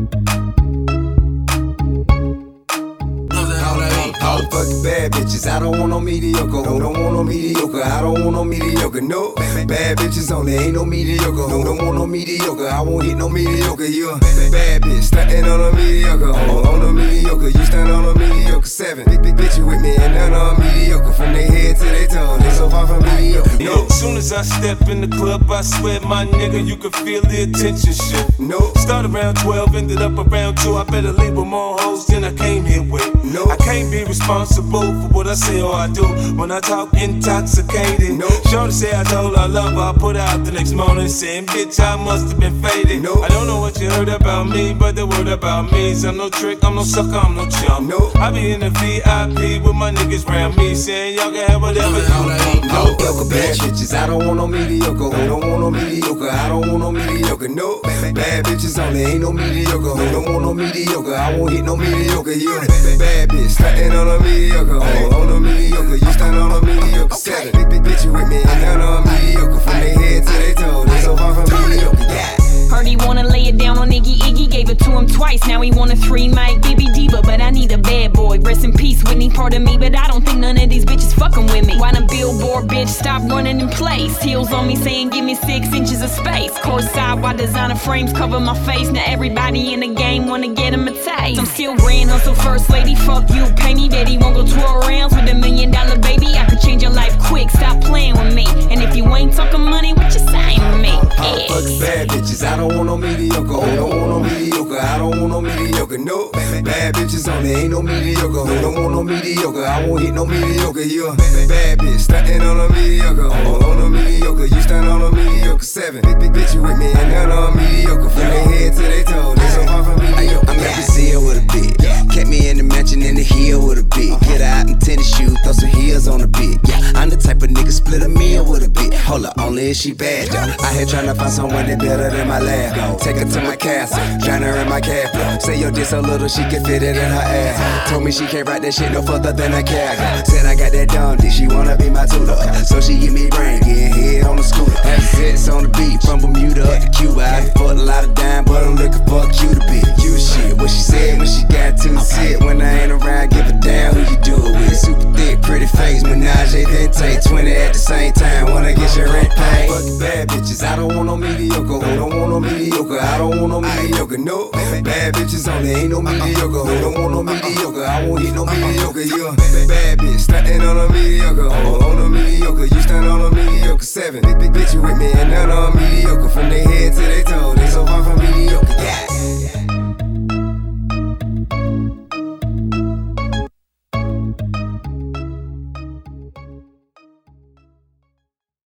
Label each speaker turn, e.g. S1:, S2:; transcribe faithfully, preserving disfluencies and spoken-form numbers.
S1: Fucking bad bitches, I don't want no mediocre. No, don't want no mediocre. I don't want no mediocre. No, bad bitches only, ain't no mediocre. No, don't want no mediocre. I won't hit no mediocre. You a bad bitch, stuntin' on a mediocre. On, on a mediocre, you stand on a mediocre. Seven big big bitches with me and none of them mediocre. From their head to their toe, they so far from mediocre. No.
S2: As soon as I step in the club, I swear, my nigga, you can feel the attention shift.
S1: No.
S2: Start around twelve, ended up around two. I better leave with more hoes than I came here with.
S1: No.
S2: I can't be responsible for what I say or I do when I talk intoxicated.
S1: No.
S2: Shorty say I told her I love her, I put her out the next morning saying, bitch, I must have been faded.
S1: No.
S2: I don't know what you heard about me, but the word about me is I'm no trick, I'm no sucker, I'm no chump.
S1: No.
S2: I be in the V I P with my niggas round me saying y'all can have whatever you want.
S1: No, no, bad bitches, I don't want no mediocre. I don't want no mediocre. I don't want no mediocre. No, bad bitches only, ain't no mediocre. I don't want no mediocre. I won't hit no mediocre. You a bad bitch, stuntin' on a mediocre. On, on a mediocre, you stand on a mediocre. Seven big big bitches with me and none of them mediocre. From their head to their toe, they so far from mediocre. Yeah.
S3: Heard he wanna lay it down on Iggy Iggy, gave it to him twice. Now he want a three mic Bibby Diva, but I need a bad boy. Rest in peace, Whitney, part of me, but I don't think none of these bitches fucking with me. Why the billboard bitch stop running in place? Heels on me saying give me six inches of space. Course side while designer frames cover my face. Now everybody in the game wanna get him a taste. I'm still grand hustle first lady, fuck you, pay me Betty. Won't go twirl rounds with a million dollar baby. I could change your life quick, stop playing with me. And if you ain't talking money, what you saying with me?
S1: Yeah. Fuck bad bitches, I don't want no mediocre. I don't want no mediocre. I don't want no mediocre. No, bad bitches only, ain't no mediocre. I don't want no mediocre. I won't hit no mediocre. You a bad bitch, stuntin' on a mediocre. On, on a mediocre, you stand on a mediocre. Seven big big bitches with me and none of them mediocre. From their head to their toe, they so far from mediocre.
S4: I'm at Brazil with a bit. Kept me in the mansion in the hill with a bit. Get her out in tennis shoes, throw some heels on a bit. Yeah, I'm the type of nigga split a meal with a bit. Hold up, only if she bad though. I here tryna find someone that better than my lab. Take her to my castle, drown her in my cab. Say your dick so little she can fit it in her ass. Told me she can't ride that shit no further than a cab. Said I got that dumb dick, she wanna be my tutor. So she give me brain, getting head on the scooter. Have sits on the beat, from Bermuda up to Cuba. I done fucked a lot of dime, but I'm looking for a cuter bitch. Cute shit, what she said when she got to the sit. When I ain't around, give a damn who you do it with. Super thick, pretty face, menage, then take twenty at the same time. Wanna get your rent paid.
S1: Fuck bad bitches, I don't want no mediocre. I don't want no mediocre. I don't want no mediocre. No, bad bitches only, ain't no mediocre. I don't want no mediocre. I won't hit no mediocre. You a bad bitch, stuntin' on a mediocre. On, on a mediocre, you stand on a mediocre. Seven big big bitches with me and none of them mediocre. From